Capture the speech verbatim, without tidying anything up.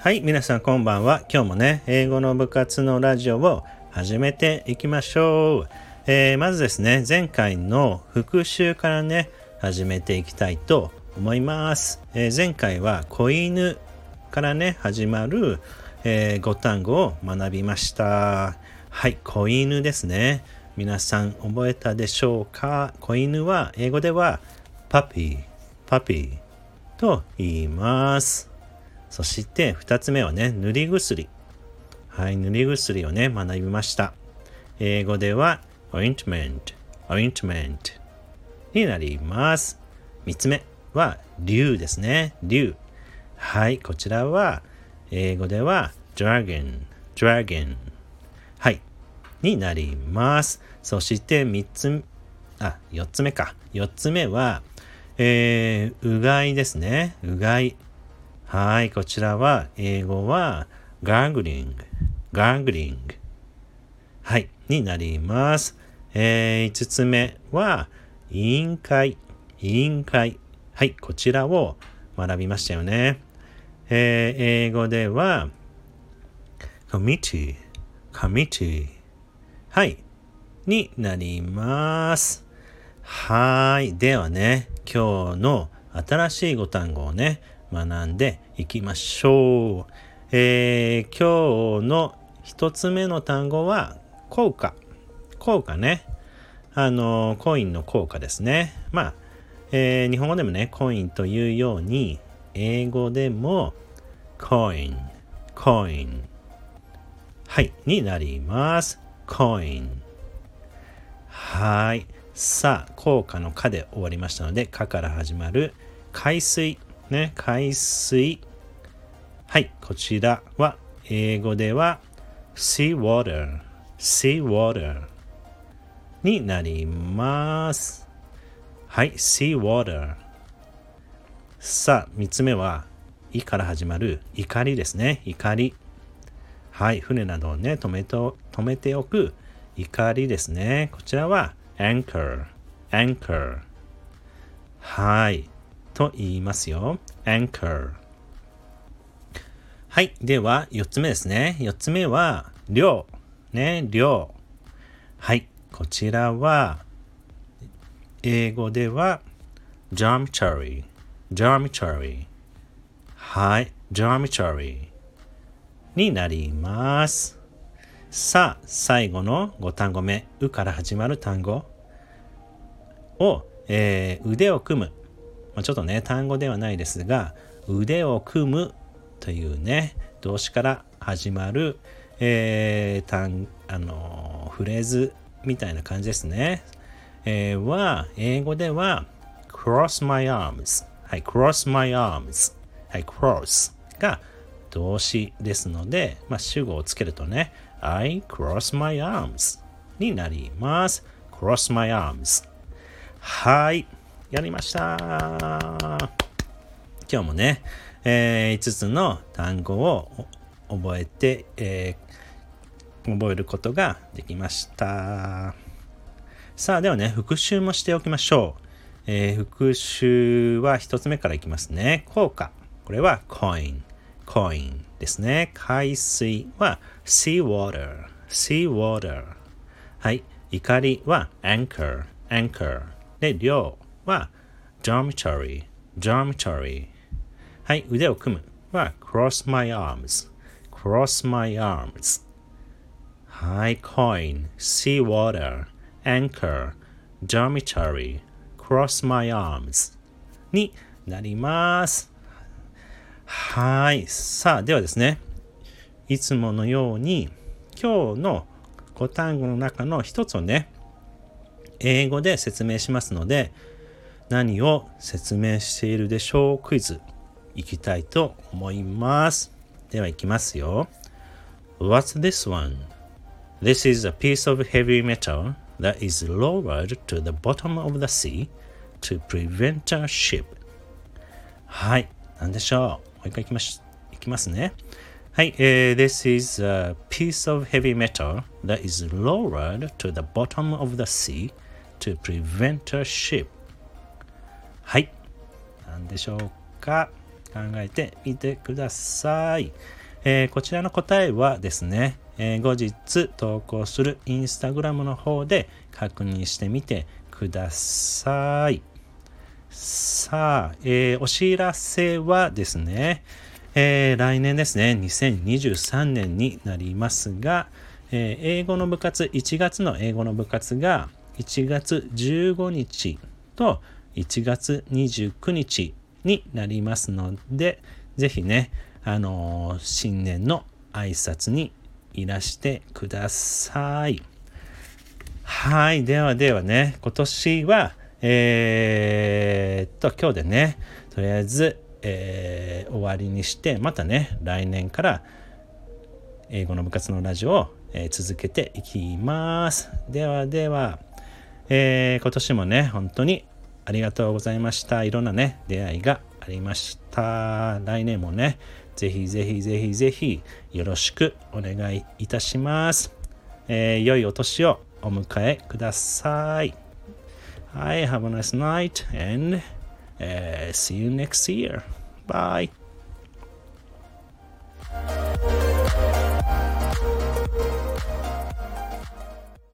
はい、皆さんこんばんは。今日もね、英語の部活のラジオを始めていきましょう。えー、まずですね、前回の復習からね、始めていきたいと思います。えー、前回は子犬からね、始まる、えー、ご単語を学びました。はい、子犬ですね。皆さん覚えたでしょうか？子犬は英語ではパピー、パピーと言います。そして二つ目はね、塗り薬。はい、塗り薬をね、学びました。英語では ointment、ointment になります。三つ目は竜ですね、竜。はい、こちらは英語では dragon、dragon はい、になります。そして三つ、あ、四つ目か。四つ目は、えー、うがいですね、うがい。はい、こちらは英語は gargling、gargling はい、になります。えー、五つ目は委員会、委員会。はい、こちらを学びましたよね。えー、英語では committee、committee はい、になります。はい、ではね、今日の新しい語単語をね、学んでいきましょう。えー、今日の一つ目の単語は効果。効果ね。あの、コインの効果ですね。まあ、えー、日本語でもね、コインというように、英語でもコイン、コイン。はい、になります。コイン。はい。さあ、効果のかで終わりましたので、かから始まる海水。ね、海水。はい、こちらは英語では sea water、sea water になります。はい、sea water。さあ、三つ目は、いから始まる怒りですね、怒り。はい、船などをね、止めと、止めておく怒りですね。こちらは anchor、anchor。はい。と言いますよ。anchor。はい。では、四つ目ですね。四つ目は、量。ね、量。はい。こちらは、英語では、dormitory、dormitory。はい。dormitory になります。さあ、最後のご単語目、うから始まる単語を、えー、腕を組む。ちょっとね、単語ではないですが、腕を組むというね、動詞から始まる、えー、単あのー、フレーズみたいな感じですね。えー、は、英語では、cross my arms。はい、cross my arms。はい、cross が動詞ですので、まあ、主語をつけるとね、I cross my arms になります。cross my arms。はい。やりました。今日もね、えー、いつつの単語を覚えて、えー、覚えることができました。さあ、ではね、復習もしておきましょう。えー、復習は一つ目からいきますね。効果。これは coin、coin ですね。海水は sea water、sea water。はい。怒りは anchor、anchor。で、量は dormitory、dormitory。はい、腕を組むは cross my arms、cross my arms。はい、coin、sea water、anchor、dormitory、cross my arms になります。はい、さあ、ではですね、いつものように今日のご単語の中の一つをね、英語で説明しますので、何を説明しているでしょうクイズいきたいと思います。では行きますよ。What's this one? This is a piece of heavy metal that is lowered to the bottom of the sea to prevent a ship. はい、何でしょう。もう一回行きまし、行きますね。はい、えー、This is a piece of heavy metal that is lowered to the bottom of the sea to prevent a ship. はい。何でしょうか。考えてみてください。 えー、こちらの答えはですね、えー、後日投稿するインスタグラムの方で確認してみてください。さあ、えー、お知らせはですね、えー、来年ですね、にせんにじゅうさんねんになりますが、えー、英語の部活、いちがつの英語の部活がいちがつじゅうごにちといちがつにじゅうくにちになりますので、ぜひね、あのー、新年の挨拶にいらしてください。はい、ではではね、今年は、えー、っと、今日でね、とりあえず、えー、終わりにして、またね、来年から英語の部活のラジオを、えー、続けていきます。ではでは、えー、今年もね、本当にありがとうございました。いろんなね、出会いがありました。来年もね、ぜひぜひぜひぜひよろしくお願いいたします。えー、良いお年をお迎えください。はい、have a nice night and、uh, see you next year. Bye.